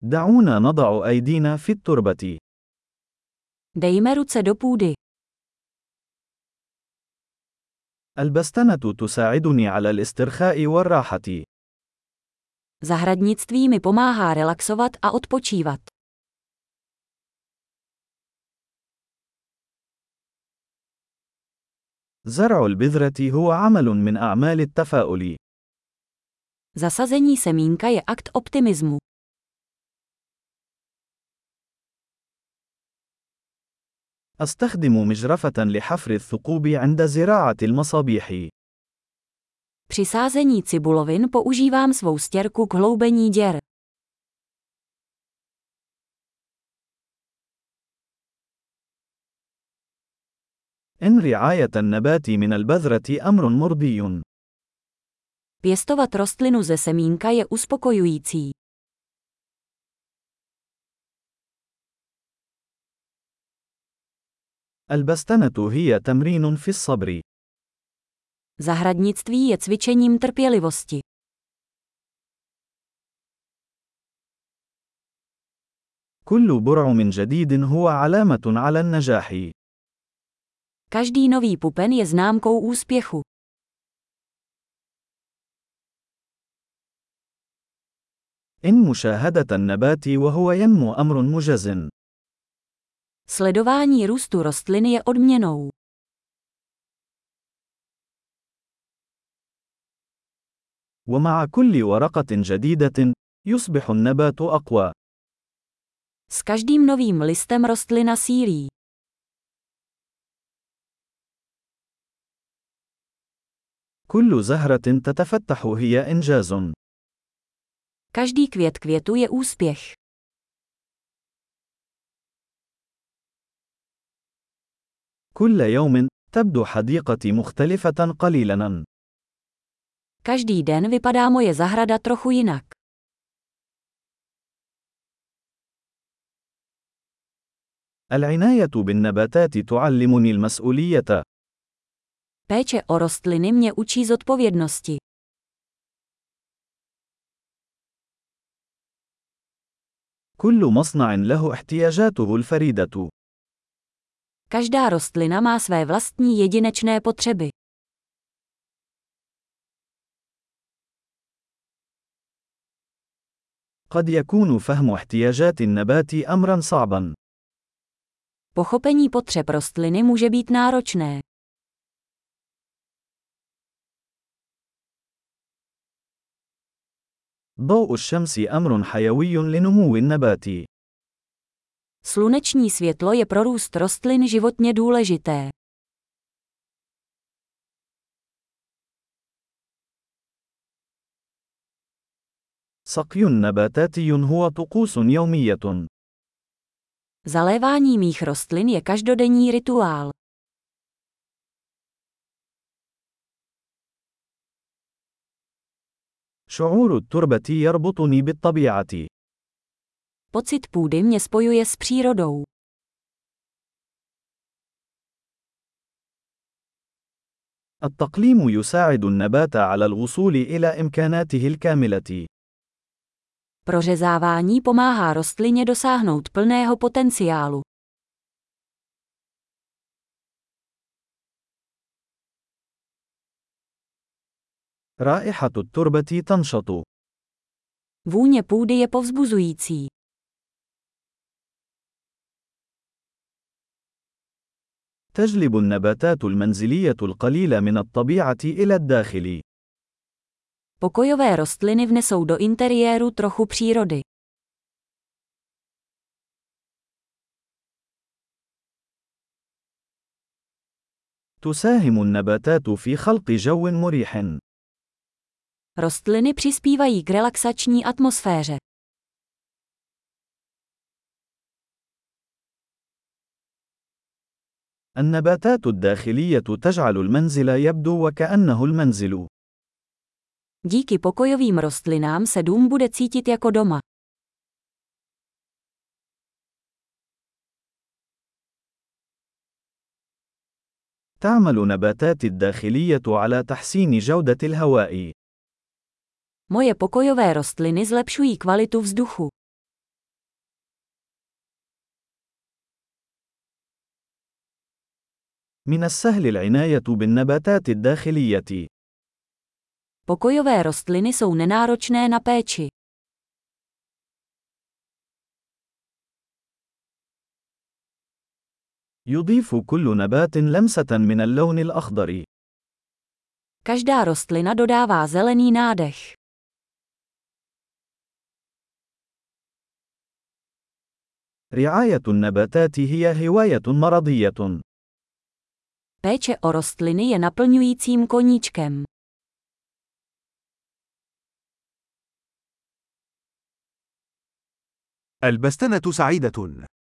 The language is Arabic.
دعونا نضع أيدينا في التربة. Dejme ruce do půdy. البستنة تساعدني على الاسترخاء والراحة. Zahradnictví mi pomáhá relaxovat a odpočívat. زرع البذرة هو عمل من أعمال التفاؤل. Zasazení semínka je akt optimismu. أستخدم مجرفة لحفر الثقوب عند زراعة المصابيح. Při sázení cibulovin používám svou stěrku k hloubení děr. إن رعاية النبات من البذرة أمر مرضي. Pěstovat rostlinu ze semínka je uspokojující. البستنة هي تمرين في الصبر. Zahradnictví je cvičením trpělivosti. كل برعم جديد هو علامة على النجاح. Každý nový pupen je známkou úspěchu. إن مشاهدة النبات وهو ينمو أمر مجز. Sledování růstu rostliny je odměnou. ومع كل ورقة جديدة، يصبح النبات أقوى. S každým novým listem rostlina sílí. كل زهرة تتفتح هي إنجاز. Každý květ květu je úspěch. كل يوم تبدو حديقتي مختلفة قليلاً. Každý den vypadá moje zahrada trochu jinak. العناية بالنباتات تعلمني المسؤولية. Péče o rostliny mě učí zodpovědnosti. كل مصنع له احتياجاته الفريدة. Každá rostlina má své vlastní jedinečné potřeby. قد يكون فهم احتياجات النبات أمرا صعبا. Pochopení potřeb rostliny může být náročné. ضوء الشمس أمر حيوي لنمو النبات. Sluneční světlo je pro růst rostlin životně důležité. سقي نباتاتي هو طقوس يومية. Zalévání mých rostlin je každodenní rituál. شعور التربة يربطني بالطبيعة. Pocit půdy mě spojuje s přírodou. التقليم يساعد النبات على الوصول إلى إمكاناته الكاملة. Prořezávání pomáhá rostlině dosáhnout plného potenciálu. رائحة التربة تنشط. Vůně půdy je povzbuzující. تجلب النباتات المنزلية القليلة من الطبيعة إلى الداخل. Pokojové rostliny vnesou do interiéru trochu přírody. تساهم النباتات في خلق جو مريح. Rostliny přispívají k relaxační atmosféře. النباتات الداخلية تجعل المنزل يبدو وكأنه المنزل. Díky pokojovým rostlinám se dům bude cítit jako doma. تعمل نباتاتي الداخلية على تحسين جودة الهواء. Moje pokojové rostliny zlepšují kvalitu vzduchu. من السهل العناية بالنباتات الداخلية. Pokojové rostliny jsou nenáročné na péči. يضيف كل نبات لمسة من اللون الأخضر. Každá rostlina dodává zelený nádech. رعاية النباتات هي هواية مرضية. Péče o rostliny je naplňujícím koníčkem. البستنة سعيدة.